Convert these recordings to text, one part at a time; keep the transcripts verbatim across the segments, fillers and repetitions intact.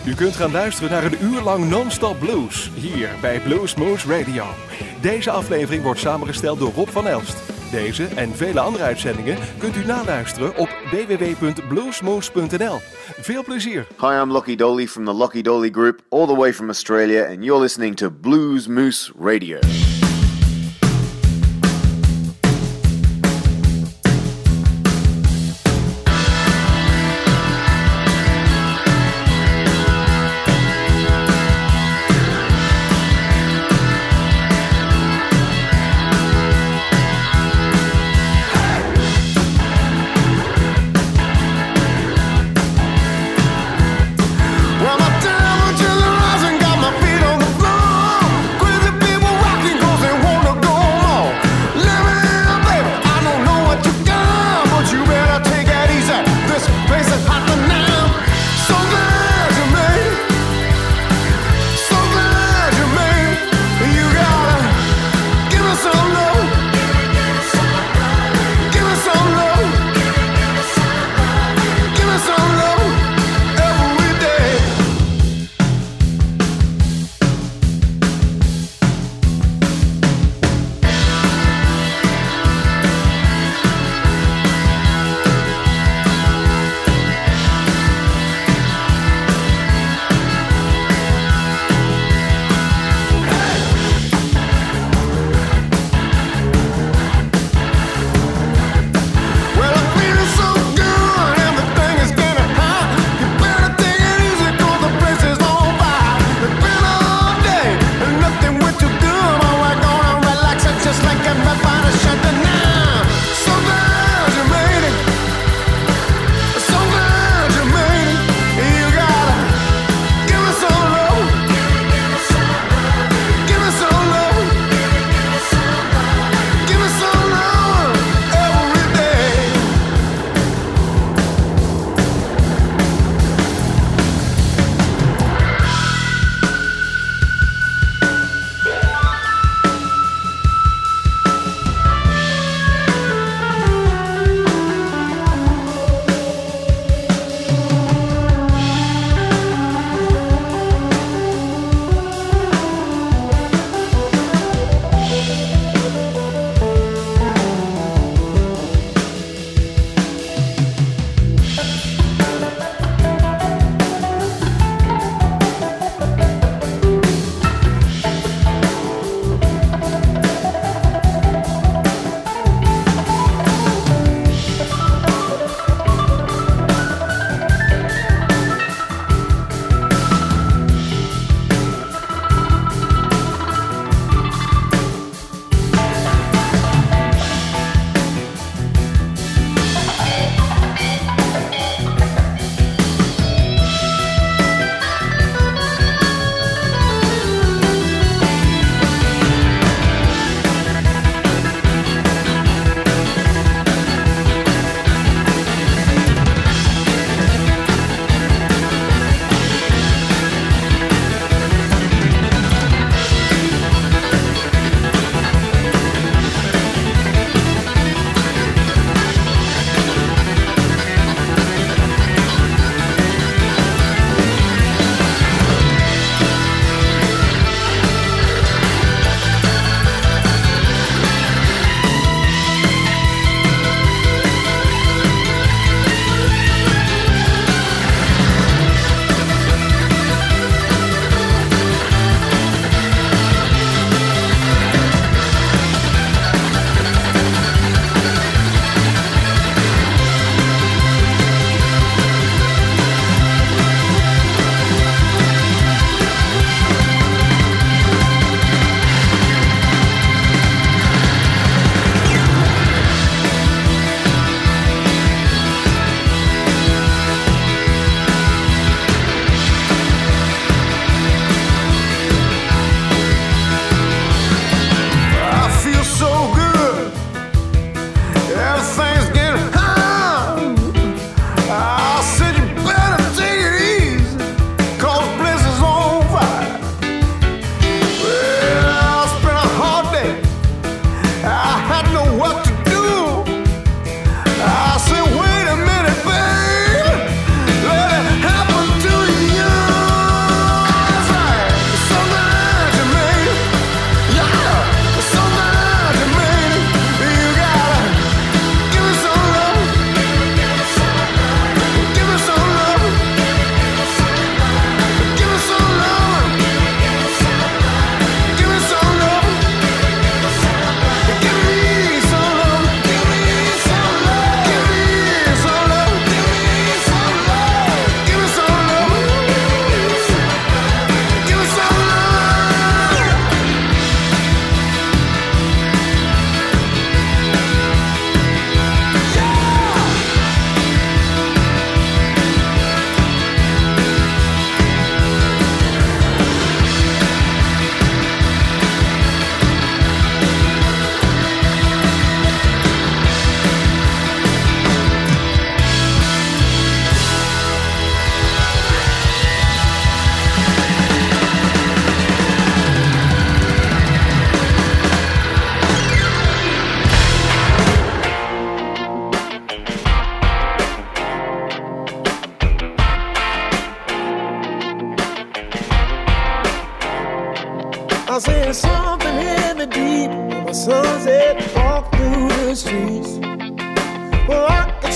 U kunt gaan luisteren naar een uur lang non-stop blues, hier bij Bluesmoose Radio. Deze aflevering wordt samengesteld door Rob van Elst. Deze en vele andere uitzendingen kunt u naluisteren op w w w punt bluesmoose punt n l. Veel plezier! Hi, I'm Lockie Doley from the Lockie Doley Group, all the way from Australia, and you're listening to Bluesmoose Radio. Well, my time was just rising, got my feet on the floor. Crazy people rocking,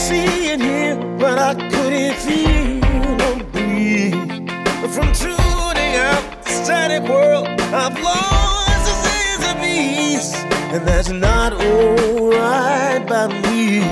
see and hear what I couldn't feel or breathe. From tuning out the static world, I've lost a sense of peace, and that's not alright by me.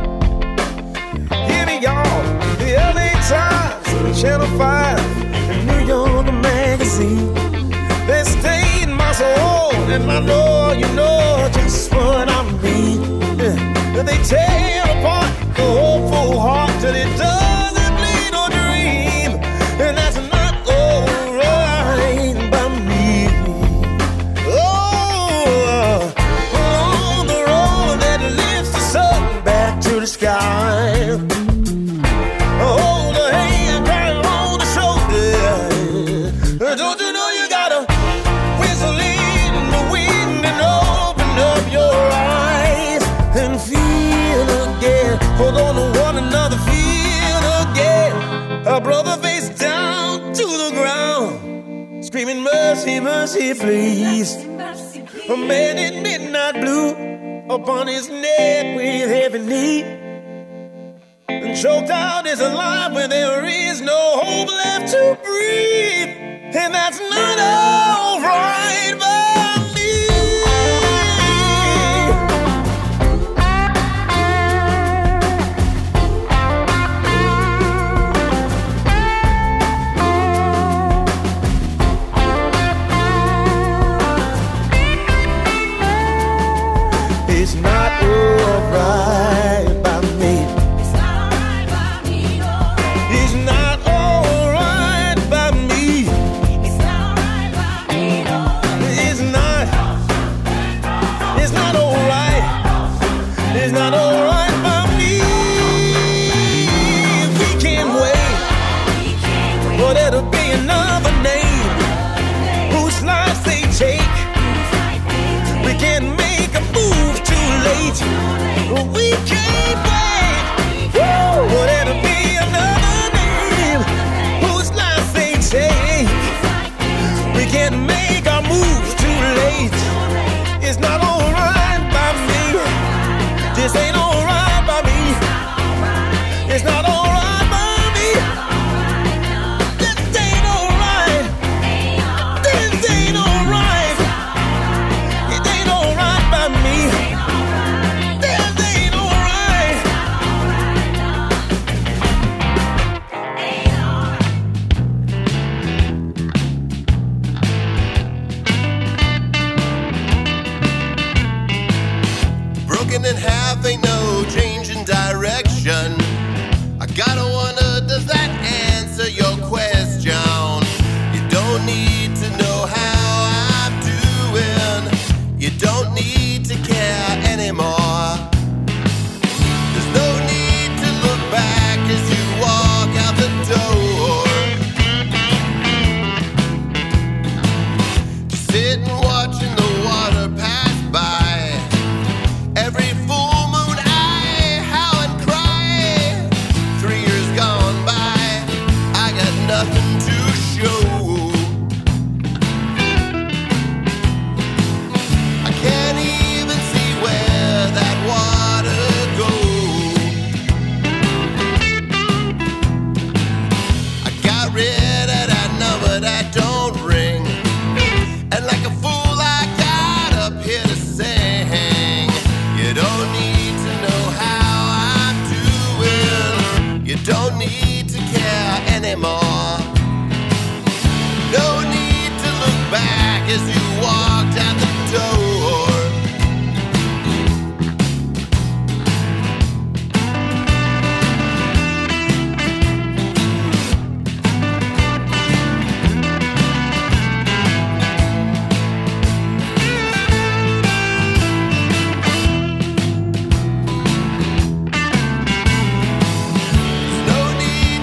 Hear me, y'all, the L A Times, Channel five, and New York Magazine. They stain my soul, and I know you know just what I mean. Yeah. They tear apart the hopeful heart till it doesn't bleed or dream, and that's not alright by me. Oh, on the road that lifts the sun back to the sky. Hold a hand, cry on the shoulder. Don't you know you gotta whistle in the wind and open up your eyes and feel again. Hold on to one another, feel again. A brother face down to the ground, screaming mercy, mercy, please. A man in midnight blue upon his neck with heavy knee, and choked out is alive when there is no hope left to breathe, and that's not alright by me. It's not alright by me. It's not alright by me. No. It's not alright by me. It's not alright by me. No. It's not. It's not alright. It's not alright by me. We can't wait for there to be another name whose lives they take. We can't make a move too late. We can't wait for there to be another name whose lives they take. We can't make our moves too late. It's not alright by me. This ain't alright by me. It's not alright by me. This ain't alright. This ain't alright. It ain't alright by me. This ain't alright. Broken in half, ain't no change in direction. I gotta wonder, does that answer your question? You don't need to know how I'm doing. You don't need to care anymore. There's no need to look back as you walk out the door. Just sitting watching the water pass by. Every full moon I howl and cry. Three years gone by, I got nothing to show. I can't even see where that water goes. I got rid of that number that don't ring, and like a fool I got up here to sing. You don't need to know how I'm doing. You don't need to care anymore. No need to look back as you walked out the door. There's no need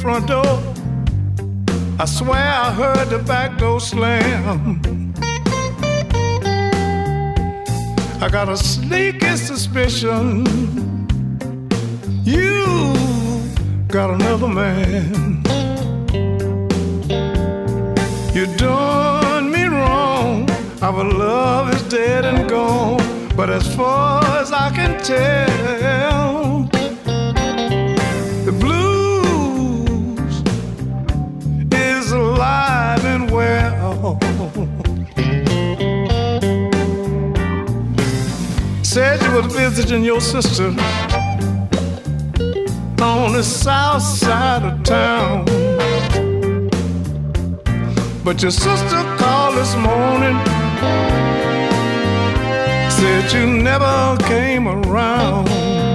front door. I swear I heard the back door slam. I got a sneaky suspicion you got another man. You done me wrong. Our love is dead and gone. But as far as I can tell, the blues is alive and well. Said you was visiting your sister on the south side of town, but your sister called this morning, said you never came around.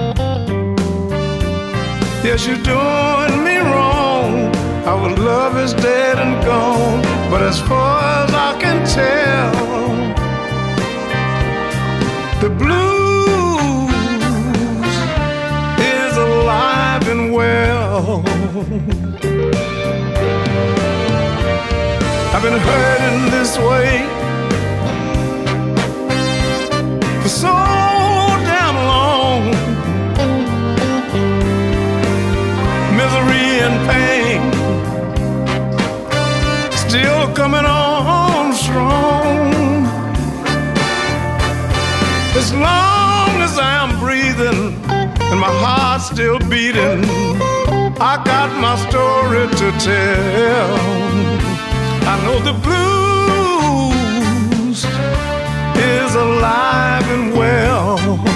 Yes, you're doing me wrong. Our love is dead and gone. But as far as I can tell, the blues is alive and well. I've been hurting this way for so damn long. Misery and pain still coming on strong. As long as I'm breathing and my heart's still beating, I got my story to tell. I know the blues is alive and well.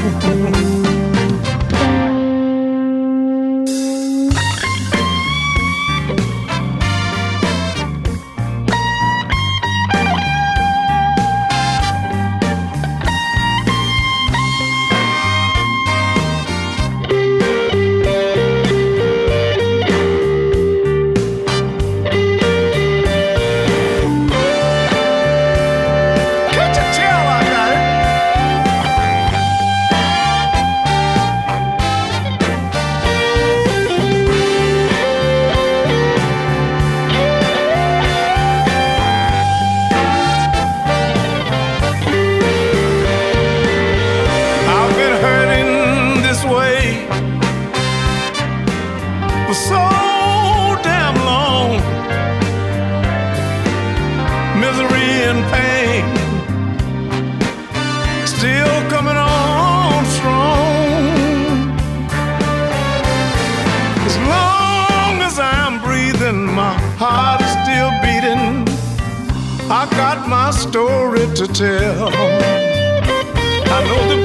I got my story to tell. I know the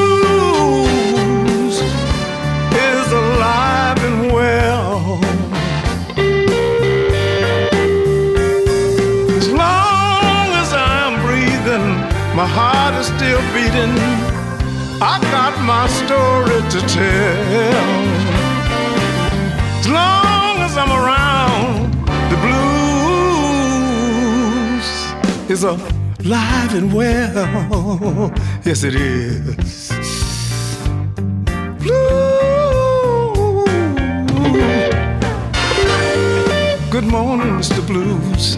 blues is alive and well. As long as I'm breathing, my heart is still beating. I got my story to tell. As long as I'm around, the blues is alive and well. Yes, it is. Blue. Good morning, Mister Blues.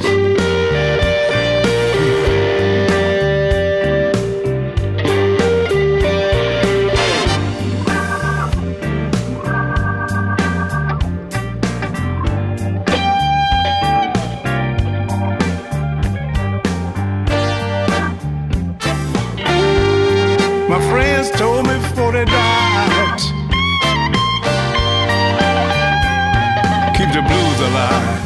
My friends told me before they died, keep the blues alive.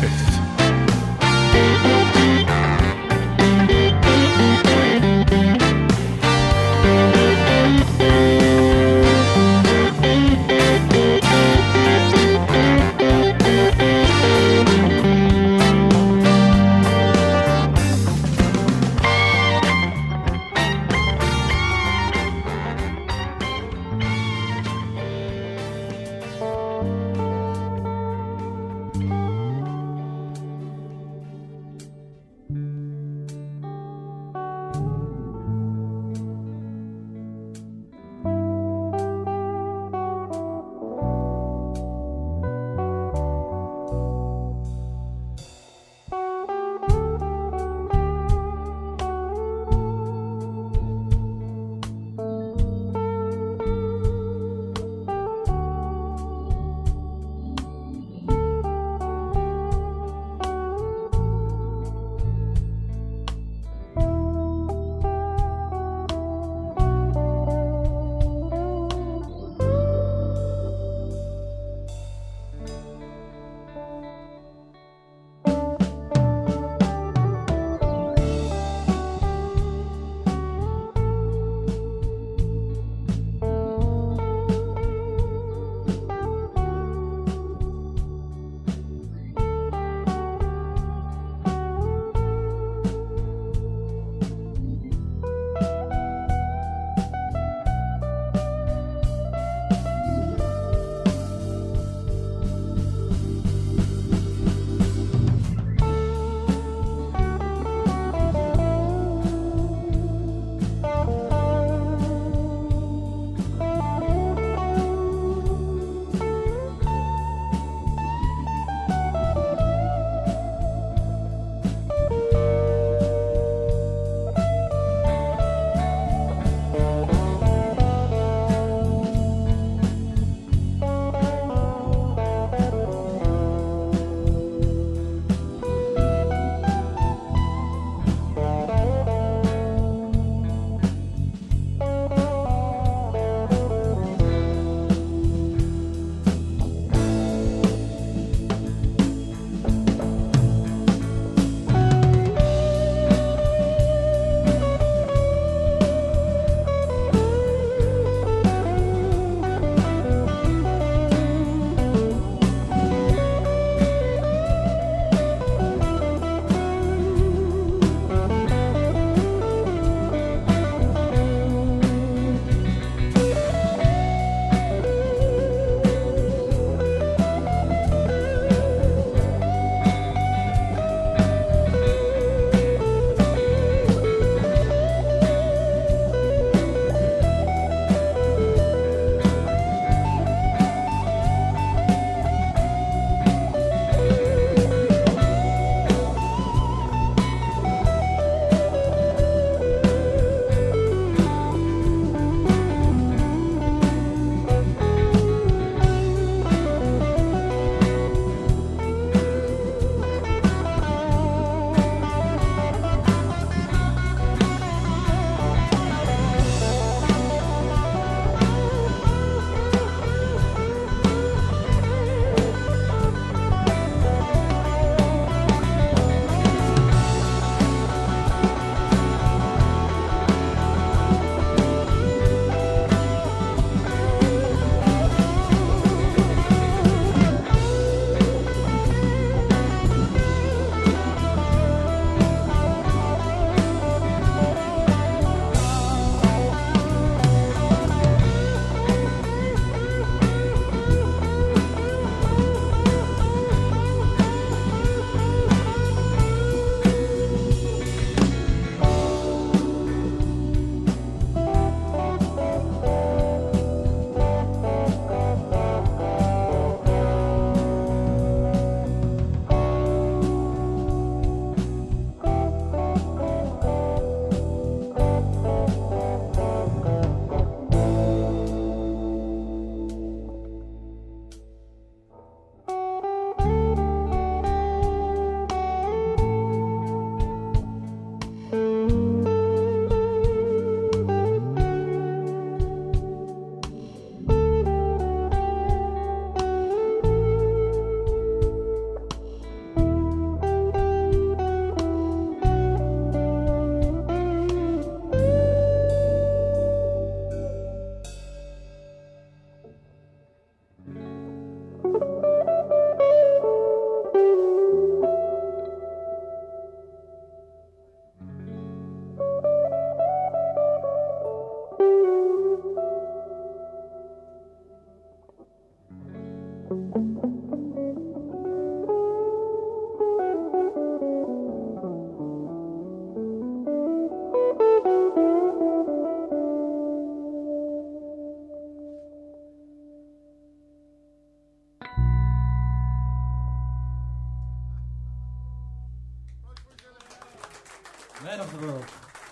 Man of the World.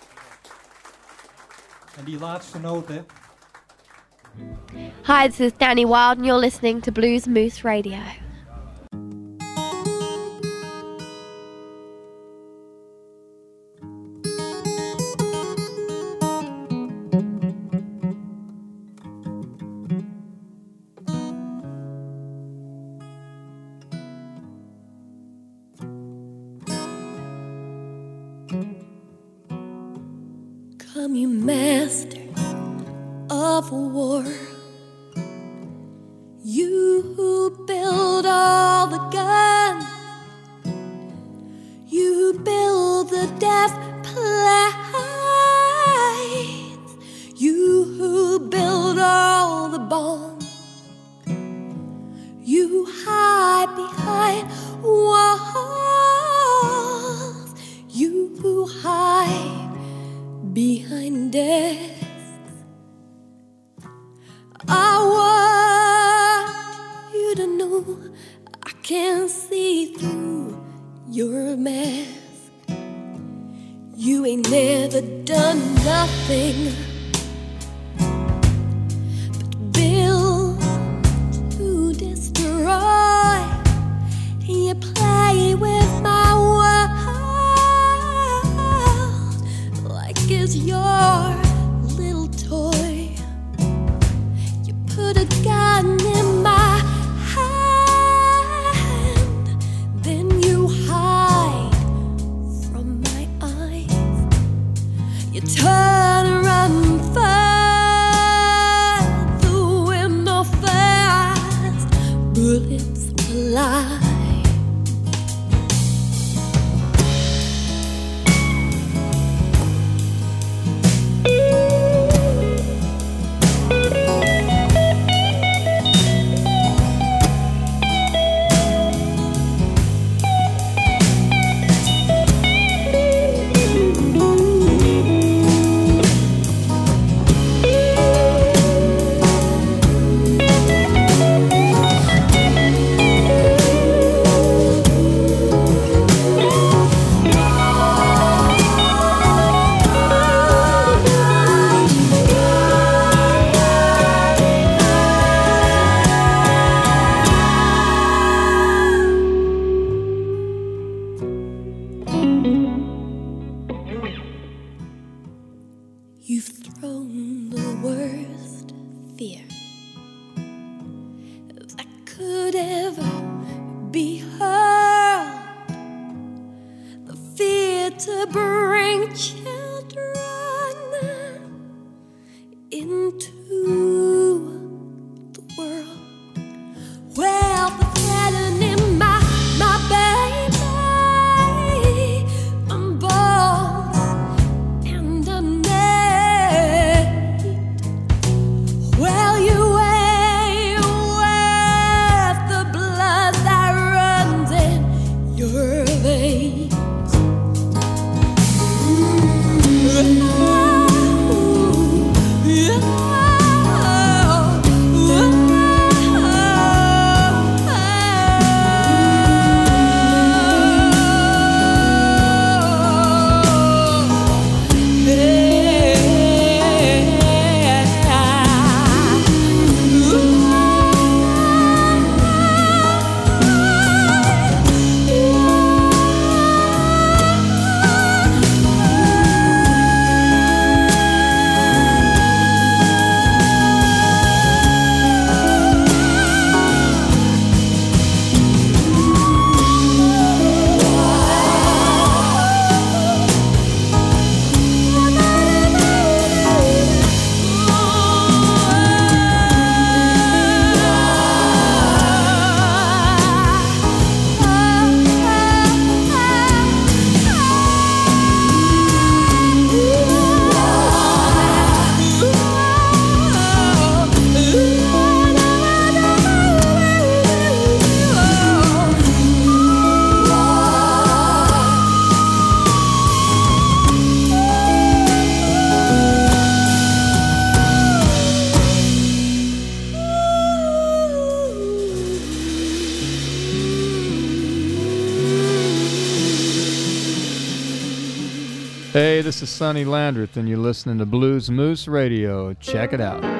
En die laatste noot, hè. Hi, this is Danny Wild and you're listening to Blues Moose Radio. Come, you master of war, you who build all the guns, you who build the death planes, you who build all the bombs, you who hide behind walls, you who hide behind desks. I want you to know I can't see through your mask. You ain't never done nothing but build to destroy. You play with my world like it's your little toy. You put a gun in my hand, then you hide from my eyes. You turn around fast, the window fast, bullets fly. You've thrown the worst fear that could ever be hurled, the fear to bring children into the world. Well, the threatening my, my baby, I'm born and I'm naked. Well, you ain't worth the blood that runs in your veins. Mm. Hey, this is Sonny Landreth, and you're listening to Blues Moose Radio. Check it out.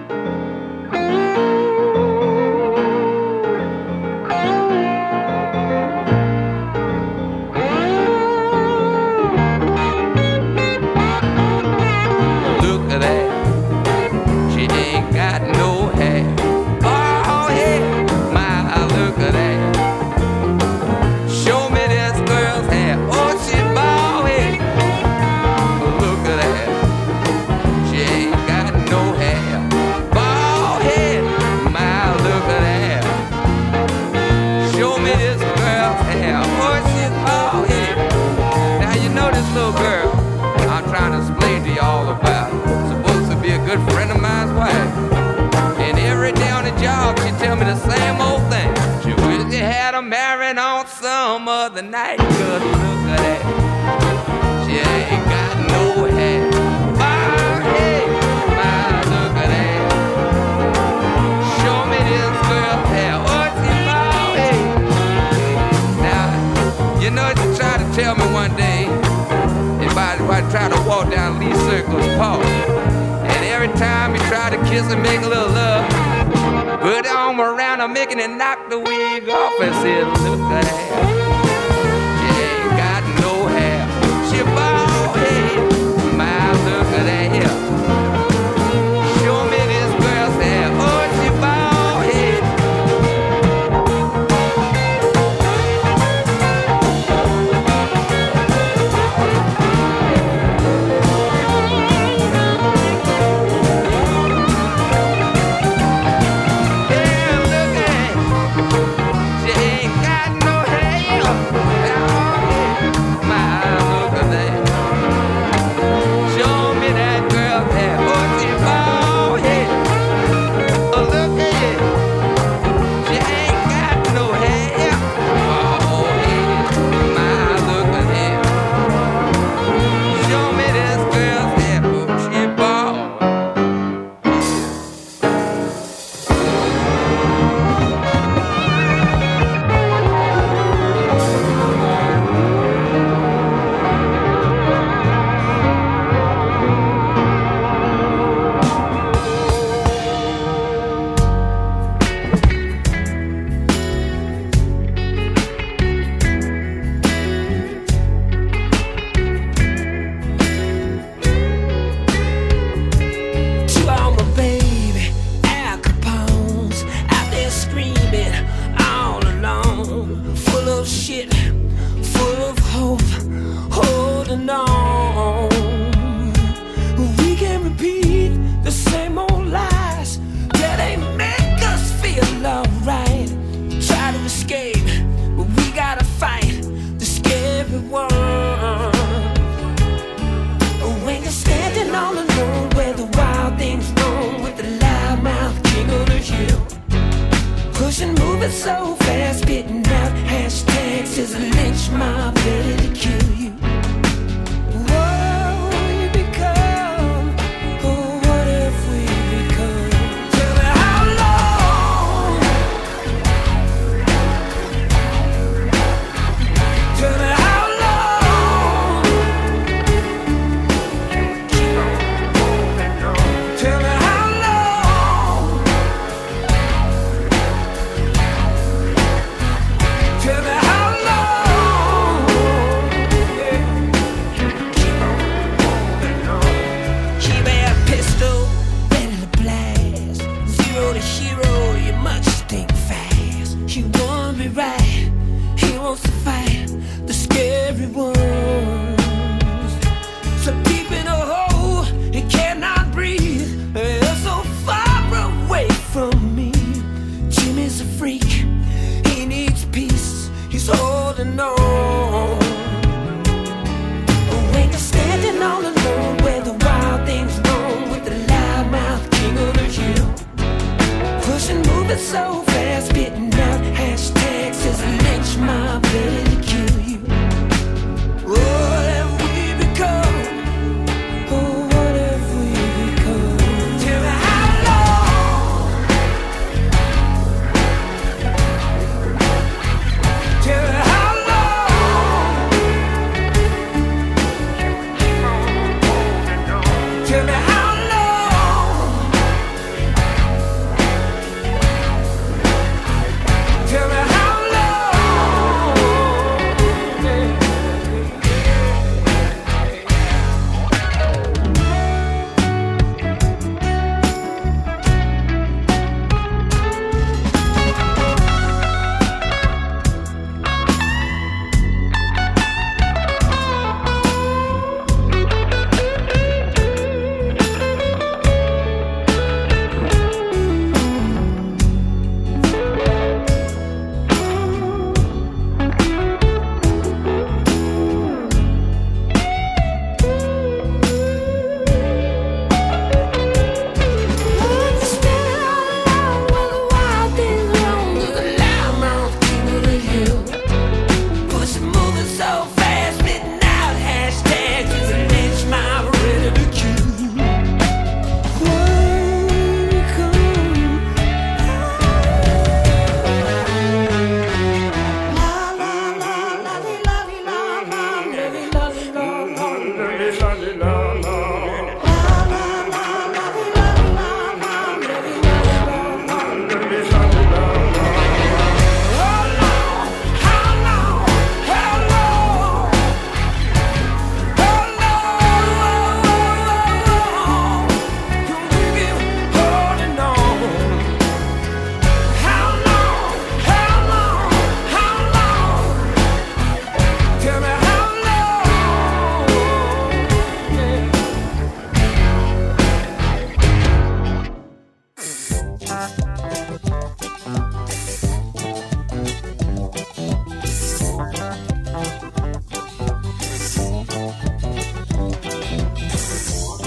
Look at that, she ain't got no hair. Oh, yeah, my, look at that. Show me this girl's hair. Oh, she bald head. Look at that, she ain't got no hair. Bald head, my, look at that. Show me this girl's hair. Oh, she's bald head. Now you know this little girl I'm trying to explain to you all about. Supposed to be a good friend of mine's wife. And every day on the job she tell me the same old thing. She wish she had her married on some other night. Cause look at that, she ain't got no hair. My head, my, look at that. Show me this girl's hair. Oh, she bald head. Now, you know she tried to tell me one day if I, if I try to walk down Lee Circle's park, and every time he try to kiss and make a little love, put her arm around her, making it knock the wig off, and said, look at that, she ain't got no hair, she bald head, my, look at that here. Show me this girl's hair, oh, she bald head.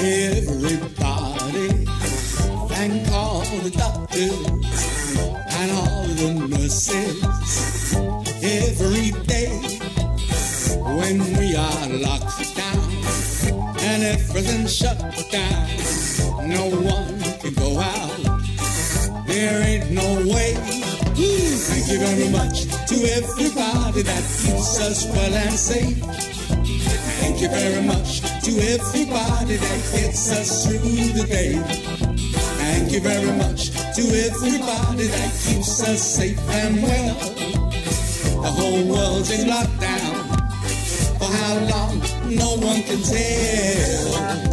Everybody thank all the doctors and all the nurses. Every day when we are locked down and everything's shut down, no one can go out. There ain't no way. Ooh, thank you very much to everybody that keeps us well and safe. Thank you very much to everybody that gets us through the day. Thank you very much to everybody that keeps us safe and well. The whole world's in lockdown. For how long, no one can tell.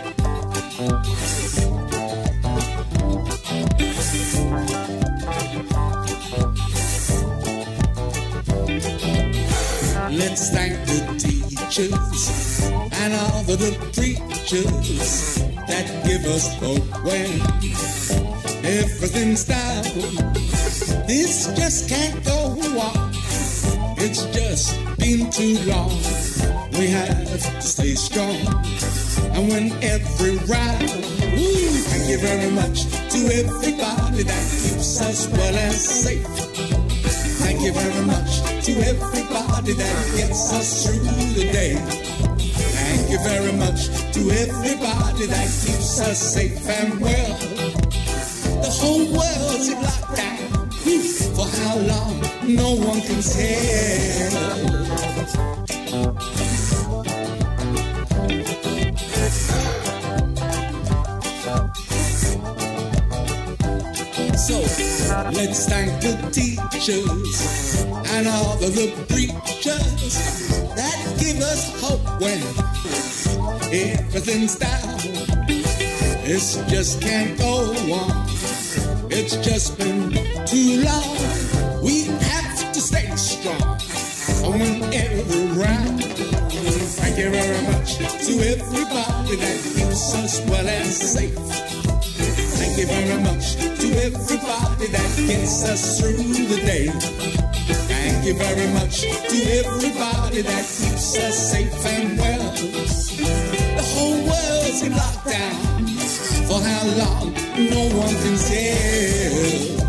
Let's thank the teachers and all the, the preachers that give us hope when everything's down. This just can't go on. It's just been too long. We have to stay strong and win every round. Ooh, thank you very much to everybody that keeps us well and safe. Thank you very much to everybody that gets us through the day. Thank you very much to everybody that keeps us safe and well. The whole world's in lockdown. For how long, no one can tell. So let's thank the teachers and all of the preachers that give us hope when everything's down. This just can't go on. It's just been too long. We have to stay strong and win every round. Thank you very much to everybody that keeps us well and safe. Thank you very much to everybody that gets us through the day. Thank you very much to everybody that keeps us safe and well. The whole world's in lockdown. For how long, no one can tell.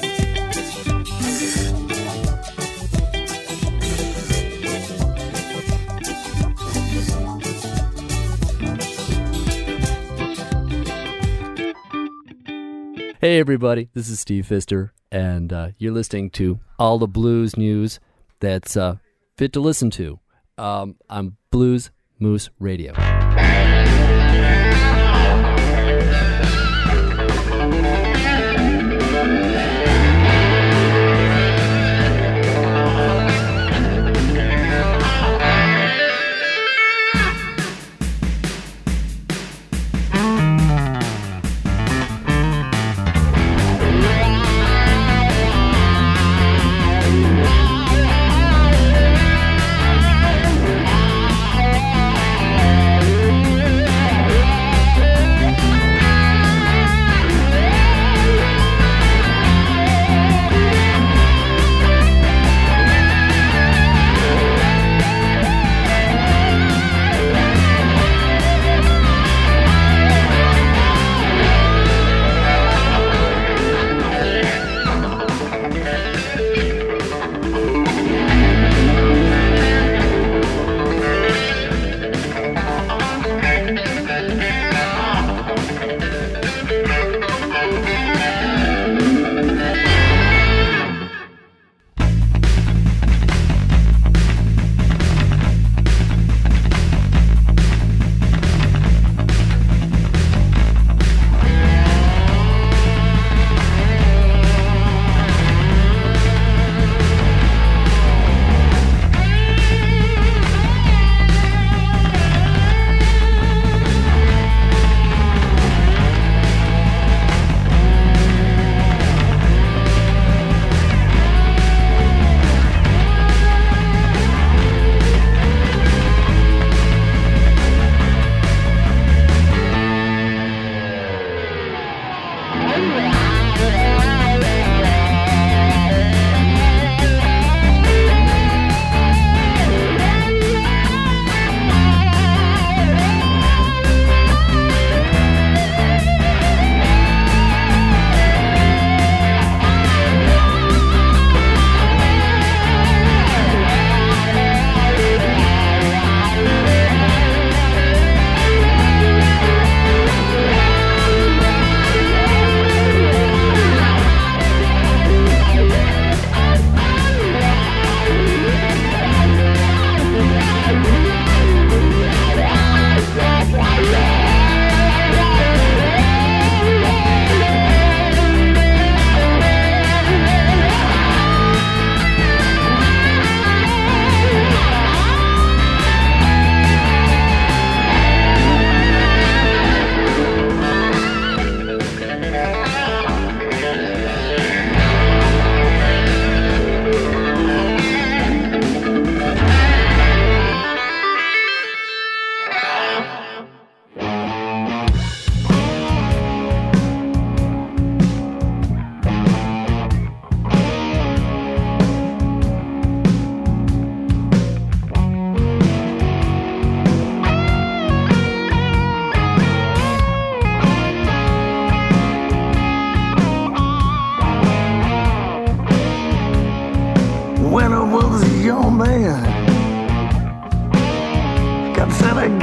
Hey everybody, this is Steve Pfister, and uh, you're listening to all the blues news that's uh, fit to listen to um, on Blues Moose Radio.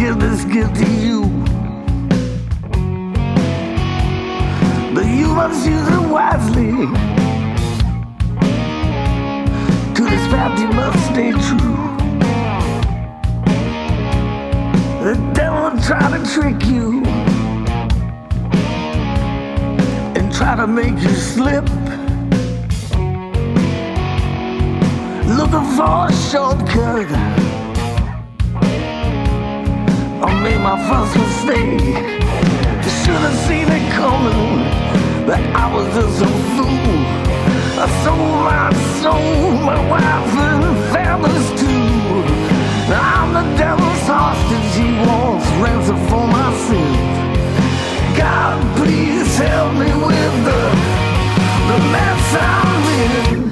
give this gift to you. But you must use it wisely. To this path you must stay true. The devil try to trick you and try to make you slip, looking for a shortcut. I made my first mistake. Should have seen it coming, but I was just a fool. I sold my soul, my wife and families too. Now I'm the devil's hostage, he wants ransom for my sins. God, please help me with the, the mess I'm in.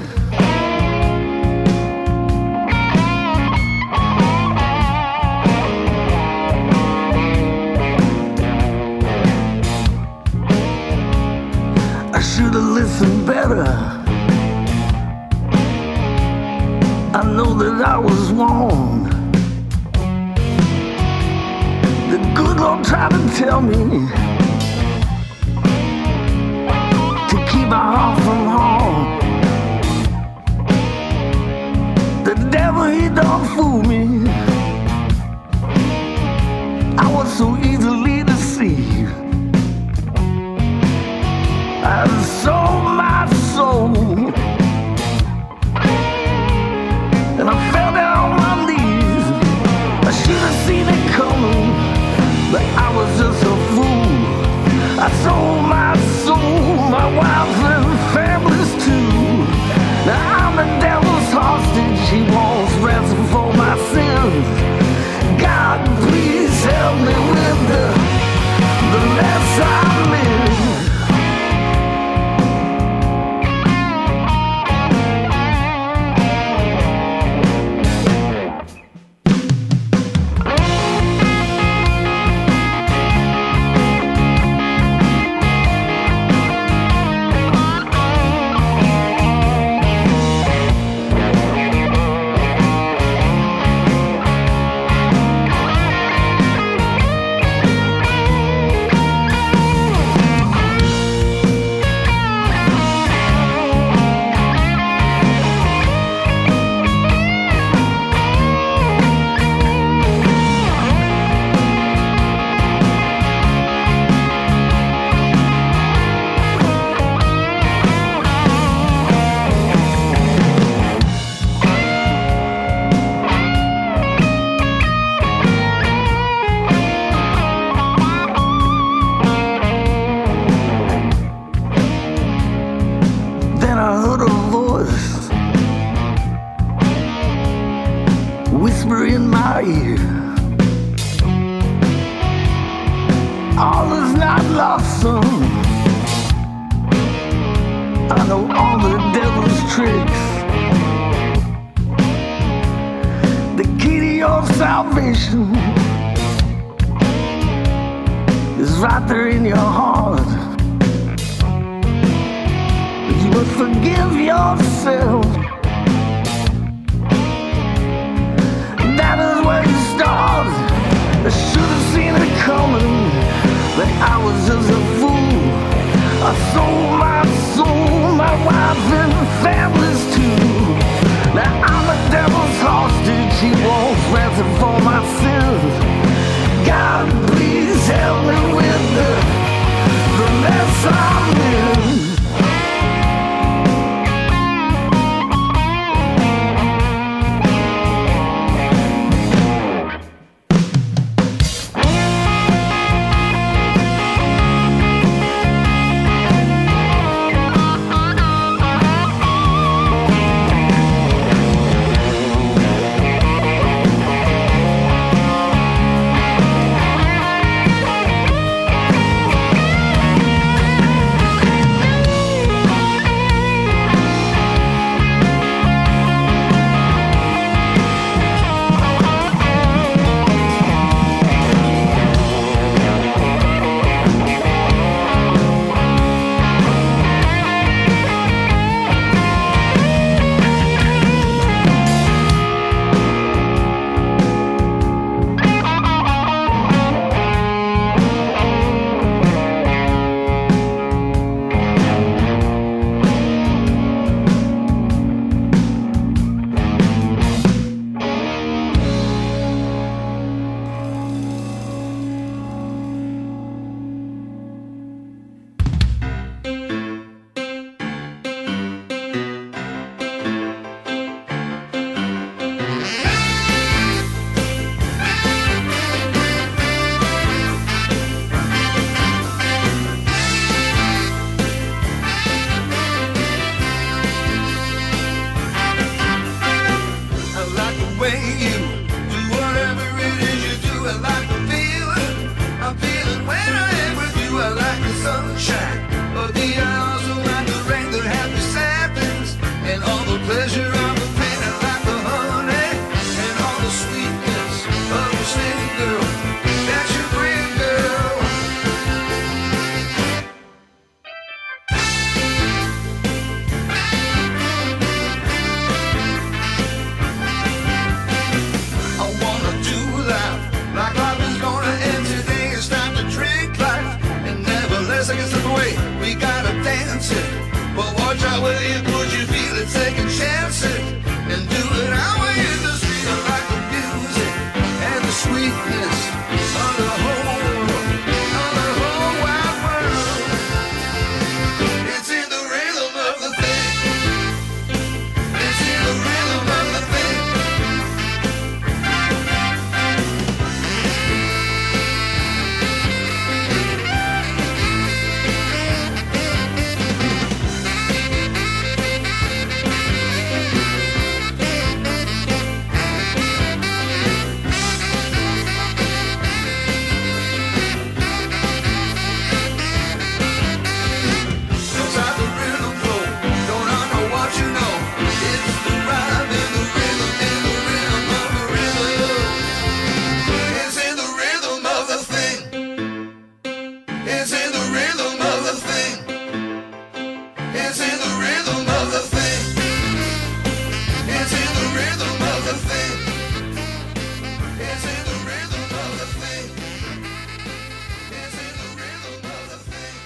I should have listened better. I know that I was wrong. The good Lord tried to tell me to keep my heart from harm. The devil, he don't fool me. I was so easily deceived. I sold my soul, and I fell down on my knees. I should have seen it coming, but I was just a fool. I sold my soul, my wife and families too. Now I'm the devil's hostage, he wants ransom for my sins. God, please help me with the, the mess I'm in.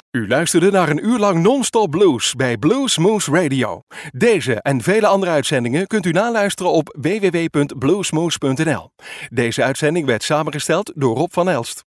U luisterde naar een uur lang non-stop blues bij Blues Moose Radio. Deze en vele andere uitzendingen kunt u naluisteren op w w w punt bluesmoose punt n l. Deze uitzending werd samengesteld door Rob van Elst.